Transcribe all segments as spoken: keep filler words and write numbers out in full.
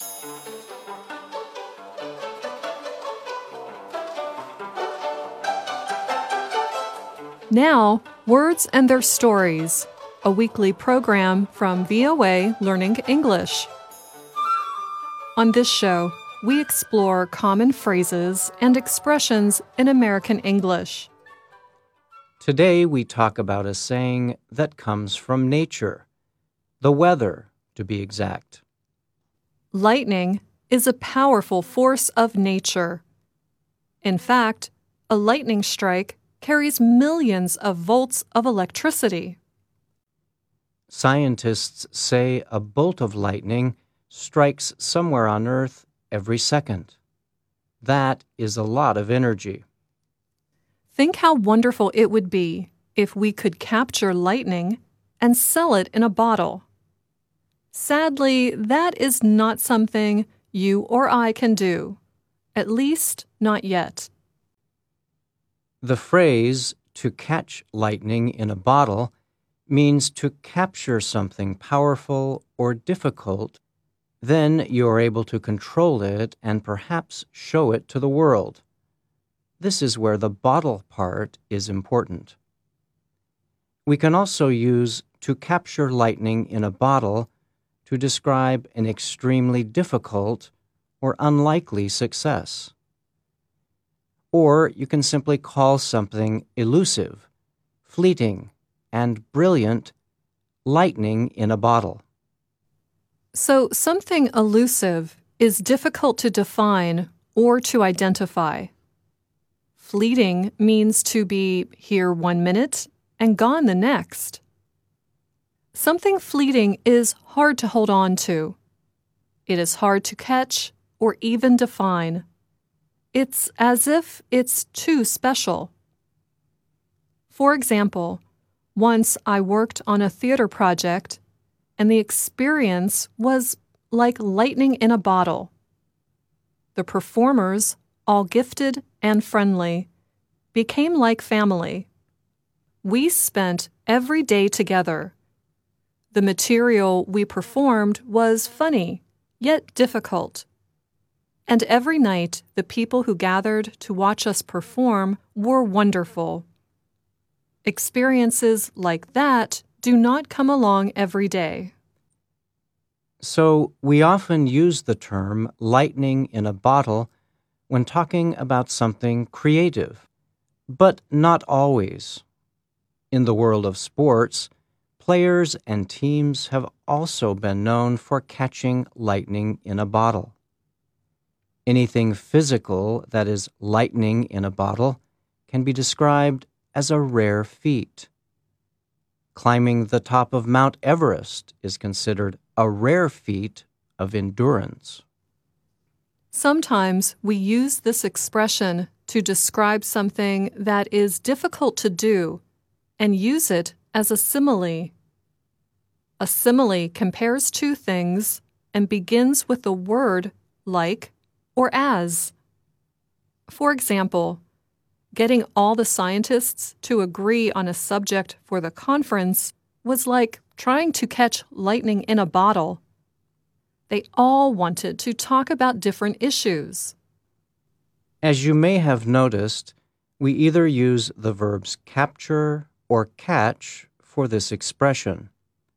Now, Words and Their Stories, a weekly program from V O A Learning English. On this show, we explore common phrases and expressions in American English. Today we talk about a saying that comes from nature, the weather, to be exact. Lightning is a powerful force of nature. In fact, a lightning strike carries millions of volts of electricity. Scientists say a bolt of lightning strikes somewhere on Earth every second. That is a lot of energy. Think how wonderful it would be if we could capture lightning and sell it in a bottle. Sadly, that is not something you or I can do, at least not yet. The phrase, to catch lightning in a bottle, means to capture something powerful or difficult. Then you are able to control it and perhaps show it to the world. This is where the bottle part is important. We can also use to capture lightning in a bottle to describe an extremely difficult or unlikely success. Or you can simply call something elusive, fleeting, and brilliant lightning in a bottle. So something elusive is difficult to define or to identify. Fleeting means to be here one minute and gone the next. Something fleeting is hard to hold on to. It is hard to catch or even define. It's as if it's too special. For example, once I worked on a theater project, and the experience was like lightning in a bottle. The performers, all gifted and friendly, became like family. We spent every day together. The material we performed was funny, yet difficult. And every night, the people who gathered to watch us perform were wonderful. Experiences like that do not come along every day. So we often use the term lightning in a bottle when talking about something creative, but not always. In the world of sports, players and teams have also been known for catching lightning in a bottle. Anything physical that is lightning in a bottle can be described as a rare feat. Climbing the top of Mount Everest is considered a rare feat of endurance. Sometimes we use this expression to describe something that is difficult to do and use it as a simile. A simile compares two things and begins with the word like or as. For example, getting all the scientists to agree on a subject for the conference was like trying to catch lightning in a bottle. They all wanted to talk about different issues. As you may have noticed, we either use the verbs capture or catch for this expression.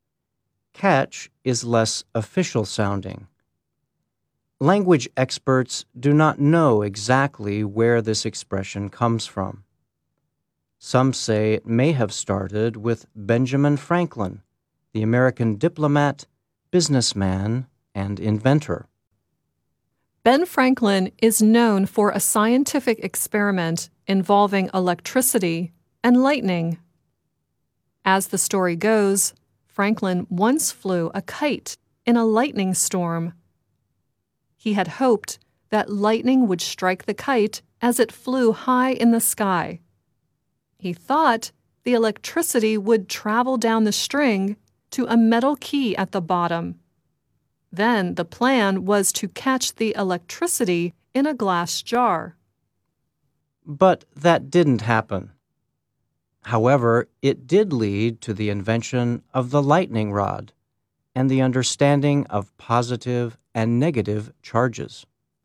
Catch is less official sounding. Language experts do not know exactly where this expression comes from. Some say it may have started with Benjamin Franklin, the American diplomat, businessman, and inventor. Ben Franklin is known for a scientific experiment involving electricity and lightning. As the story goes, Franklin once flew a kite in a lightning storm. He had hoped that lightning would strike the kite as it flew high in the sky. He thought the electricity would travel down the string to a metal key at the bottom. Then the plan was to catch the electricity in a glass jar. But that didn't happen. However, it did lead to the invention of the lightning rod and the understanding of positive and negative charges.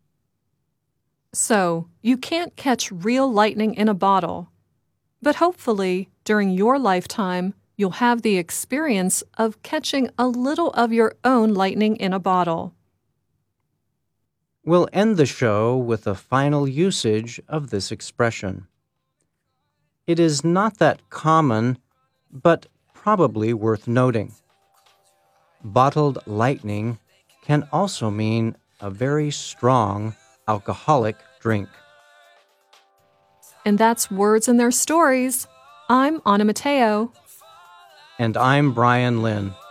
So, you can't catch real lightning in a bottle, but hopefully, during your lifetime, you'll have the experience of catching a little of your own lightning in a bottle. We'll end the show with a final usage of this expression. It is not that common, but probably worth noting. Bottled lightning can also mean a very strong alcoholic drink. And that's Words and Their Stories. I'm Anna Mateo. And I'm Brian Lynn.